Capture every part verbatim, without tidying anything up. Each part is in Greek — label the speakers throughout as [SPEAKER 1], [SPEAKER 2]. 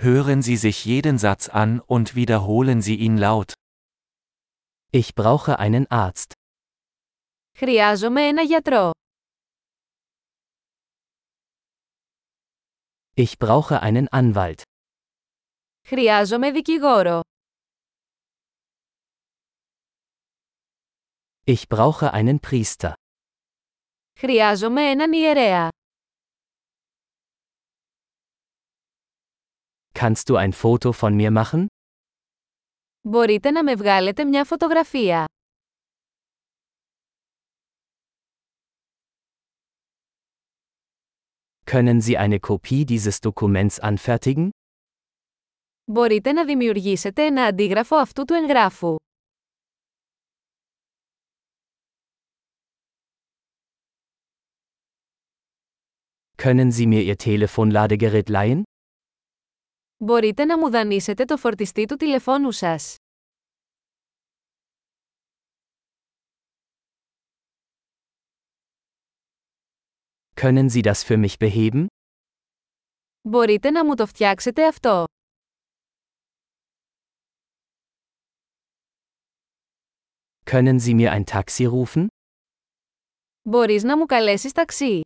[SPEAKER 1] Hören Sie sich jeden Satz an und wiederholen Sie ihn laut.
[SPEAKER 2] Ich brauche einen Arzt.
[SPEAKER 3] Χρειάζομαι ένα γιατρό.
[SPEAKER 2] Ich brauche einen Anwalt.
[SPEAKER 3] Χρειάζομαι δικηγόρο.
[SPEAKER 2] Ich brauche einen Priester.
[SPEAKER 3] Χρειάζομαι έναν ιερέα.
[SPEAKER 2] Kannst du ein Foto von mir machen?
[SPEAKER 3] Μπορείτε να με βγάλετε μια φωτογραφία.
[SPEAKER 2] Können Sie eine Kopie dieses Dokuments anfertigen?
[SPEAKER 3] Μπορείτε να δημιουργήσετε ένα αντίγραφο αυτού του εγγράφου.
[SPEAKER 2] Können Sie mir Ihr Telefonladegerät leihen?
[SPEAKER 3] Μπορείτε να μου δανείσετε το φορτιστή του τηλεφώνου σας.
[SPEAKER 2] Können Sie das für mich beheben?
[SPEAKER 3] Μπορείτε να μου το φτιάξετε αυτό.
[SPEAKER 2] Können Sie mir ein Taxi rufen?
[SPEAKER 3] Μπορείς να μου καλέσεις ταξί.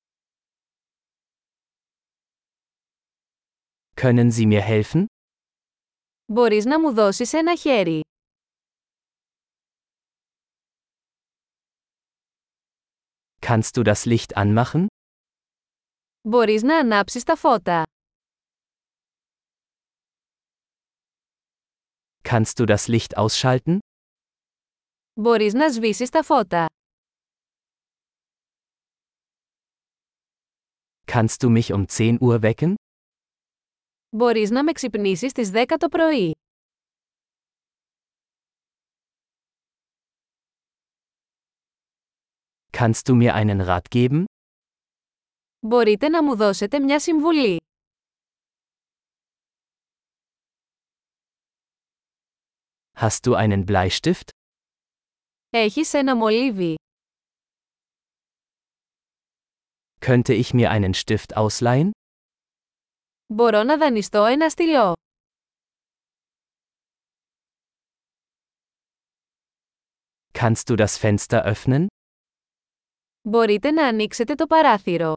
[SPEAKER 2] Können Sie mir helfen?
[SPEAKER 3] Μπορείς να μου δώσεις ένα χέρι.
[SPEAKER 2] Kannst du das Licht anmachen?
[SPEAKER 3] Μπορείς να ανάψεις τα φώτα.
[SPEAKER 2] Kannst du das Licht ausschalten?
[SPEAKER 3] Μπορείς να σβήσεις τα φώτα.
[SPEAKER 2] Kannst du mich um zehn Uhr wecken?
[SPEAKER 3] Μπορείς να με ξυπνήσεις στις δέκα το πρωί.
[SPEAKER 2] Kannst du mir einen Rat geben?
[SPEAKER 3] Μπορείτε να μου δώσετε μια συμβουλή.
[SPEAKER 2] Hast du einen Bleistift?
[SPEAKER 3] Έχεις ένα μολύβι.
[SPEAKER 2] Könnte ich mir einen Stift ausleihen?
[SPEAKER 3] Μπορώ να δανειστώ ένα στυλό.
[SPEAKER 2] Kannst du das Fenster öffnen?
[SPEAKER 3] Μπορείτε να ανοίξετε το παράθυρο.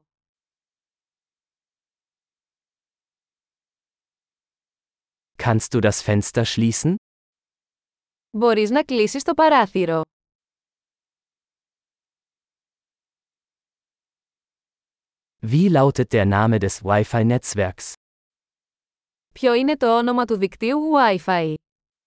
[SPEAKER 2] Kannst du das Fenster schließen?
[SPEAKER 3] Μπορείς να κλείσεις το παράθυρο.
[SPEAKER 2] Wie lautet der Name des Wi-Fi-Netzwerks?
[SPEAKER 3] Ποιο είναι το όνομα του δικτύου Wi-Fi?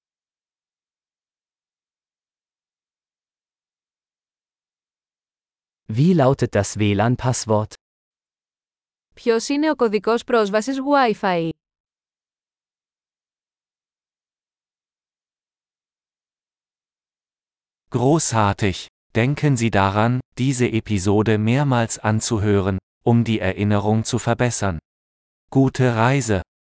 [SPEAKER 2] Wie lautet das W L A N-Passwort?
[SPEAKER 3] Ποιος είναι ο κωδικός πρόσβασης Wi-Fi?
[SPEAKER 1] Großartig! Denken Sie daran, diese Episode mehrmals anzuhören, um die Erinnerung zu verbessern. Gute Reise!